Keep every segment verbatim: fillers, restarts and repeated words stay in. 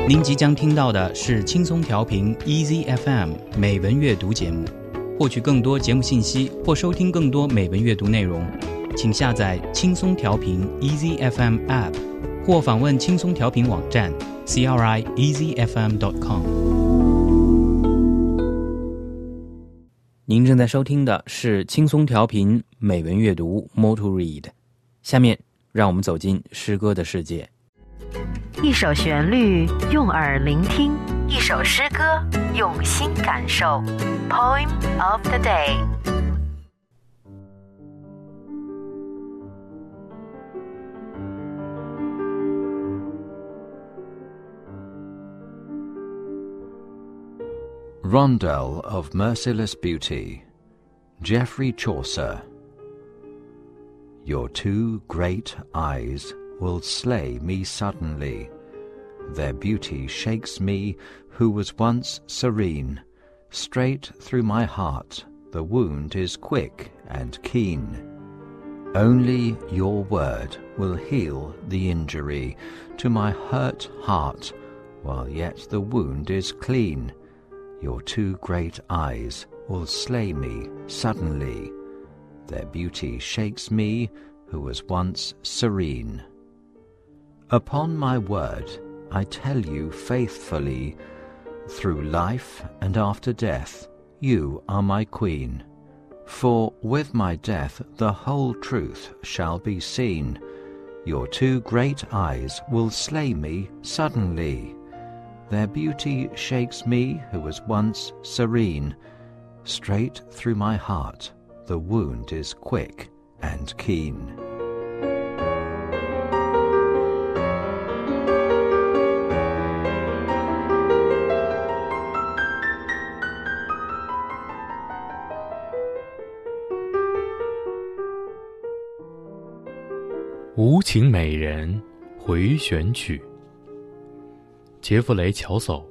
您即将听到的是轻松调频 Easy F M 美文阅读节目。获取更多节目信息或收听更多美文阅读内容，请下载轻松调频 Easy F M App 或访问轻松调频网站 c r i easy f m dot com。 您正在收听的是轻松调频美文阅读 More to Read。 下面让我们走进诗歌的世界。 一首旋律用耳聆听，一首诗歌用心感受。 Poem of the day。 Rondel of Merciless Beauty, Geoffrey Chaucer. Your two great eyes will slay me suddenly. Their beauty shakes me who was once serene. Straight through my heart the wound is quick and keen. Only your word will heal the injury to my hurt heart, while yet the wound is clean. Your two great eyes will slay me suddenly. Their beauty shakes me who was once serene. Upon my word, I tell you faithfully, through life and after death, you are my queen. For with my death the whole truth shall be seen. Your two great eyes will slay me suddenly. Their beauty shakes me who was once serene. Straight through my heart the wound is quick and keen. 无情美人回旋曲，杰弗雷·乔叟。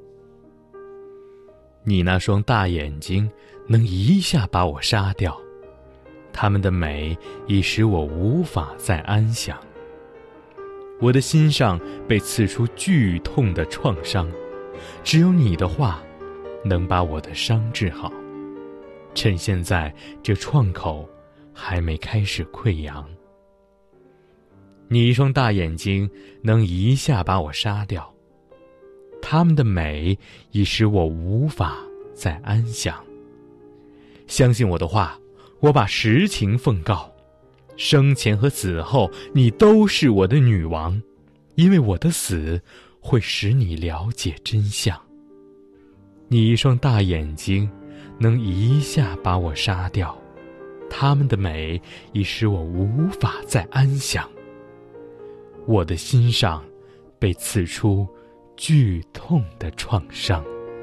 你那双大眼睛能一下把我杀掉，它们的美已使我无法再安详。我的心上被刺出剧痛的创伤，只有你的话能把我的伤治好。趁现在这创口还没开始溃疡。你一双大眼睛能一下把我杀掉，它们的美已使我无法再安详。相信我的话，我把实情奉告，生前和死后你都是我的女王，因为我的死会使你了解真相。你一双大眼睛能一下把我杀掉，它们的美已使我无法再安详。我的心上被刺出剧痛的创伤。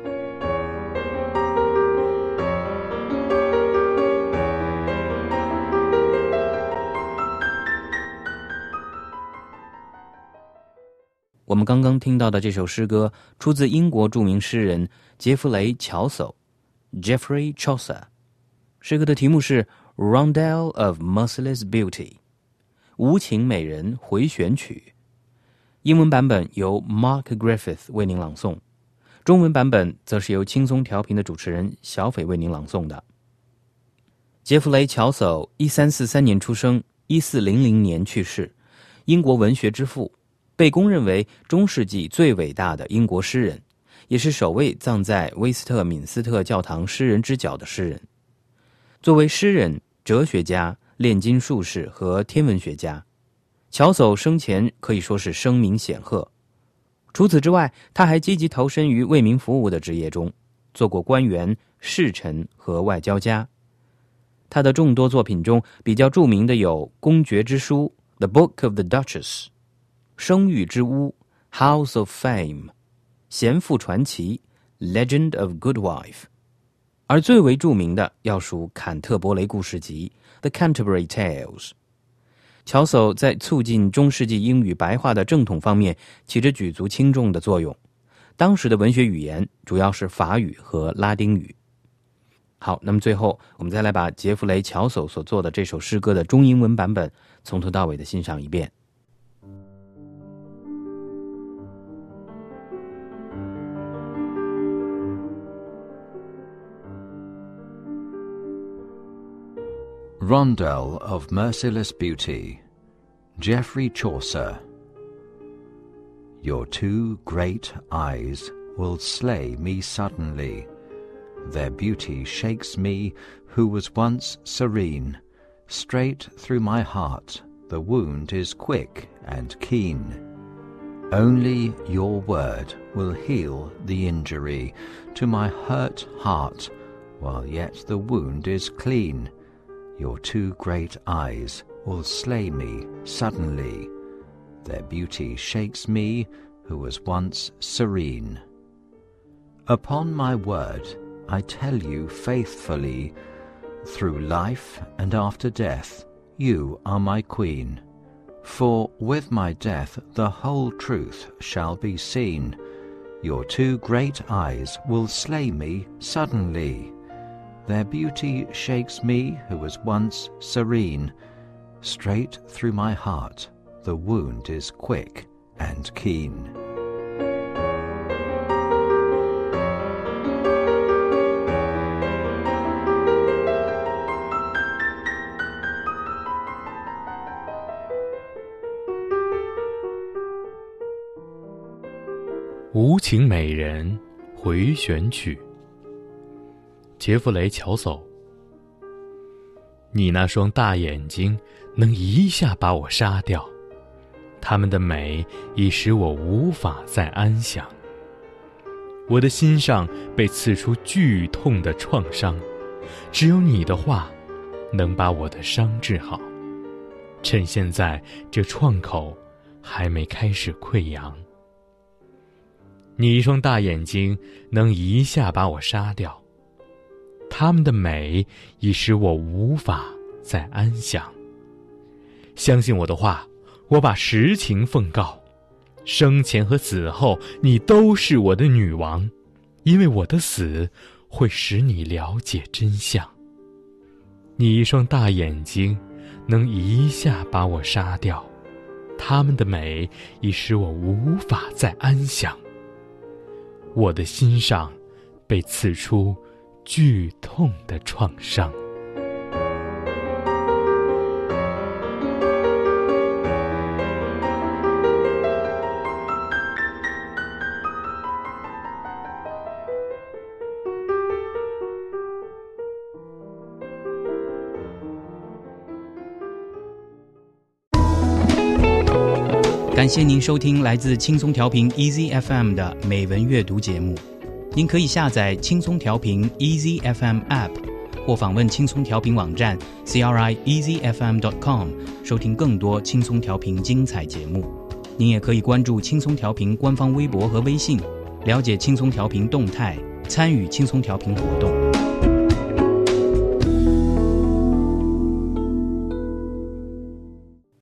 我们刚刚听到的这首诗歌出自英国著名诗人杰弗雷·乔叟 Geoffrey Chaucer。 诗歌的题目是 Rondel of Merciless Beauty， 无情美人回旋曲。英文版本由 Mark Griffith 为您朗诵，中文版本则是由轻松调频的主持人小斐为您朗诵的。杰弗雷·乔叟一三四三年出生，一四零零年去世，英国文学之父，被公认为中世纪最伟大的英国诗人，也是首位葬在威斯特敏斯特教堂诗人之角的诗人。作为诗人、哲学家、炼金术士和天文学家，乔叟生前可以说是声名显赫。除此之外，他还积极投身于为民服务的职业中，做过官员、侍臣和外交家。他的众多作品中比较著名的有《公爵之书》The Book of the Duchess、生育之屋 House of Fame、贤妇传奇 Legend of Good Wife， 而最为著名的要数坎特伯雷故事集 The Canterbury Tales。 乔叟在促进中世纪英语白话的正统方面起着举足轻重的作用。当时的文学语言主要是法语和拉丁语。好，那么最后我们再来把杰弗雷·乔叟所做的这首诗歌的中英文版本从头到尾的欣赏一遍。 Rondel of Merciless Beauty, Geoffrey Chaucer. Your two great eyes will slay me suddenly. Their beauty shakes me who was once serene. Straight through my heart the wound is quick and keen. Only your word will heal the injury to my hurt heart, while yet the wound is clean. Your two great eyes will slay me suddenly. Their beauty shakes me who was once serene. Upon my word, I tell you faithfully, through life and after death, you are my queen. For with my death the whole truth shall be seen. Your two great eyes will slay me suddenly. Their beauty shakes me who was once serene. Straight through my heart the wound is quick and keen. 无情美人回旋曲，杰弗雷·乔叟。你那双大眼睛能一下把我杀掉，它们的美已使我无法再安详。我的心上被刺出剧痛的创伤，只有你的话能把我的伤治好。趁现在这创口还没开始溃疡。你一双大眼睛能一下把我杀掉，它们的美已使我无法再安详。相信我的话，我把实情奉告，生前和死后你都是我的女王，因为我的死会使你了解真相。你一双大眼睛能一下把我杀掉，它们的美已使我无法再安详。我的心上被刺出剧痛的创伤。 感谢您收听来自轻松调频 Easy F M 的美文阅读节目。您可以下载轻松调频 Easy F M App 或访问轻松调频网站 c r i easy f m dot com 收听更多轻松调频精彩节目。您也可以关注轻松调频官方微博和微信，了解轻松调频动态，参与轻松调频活动。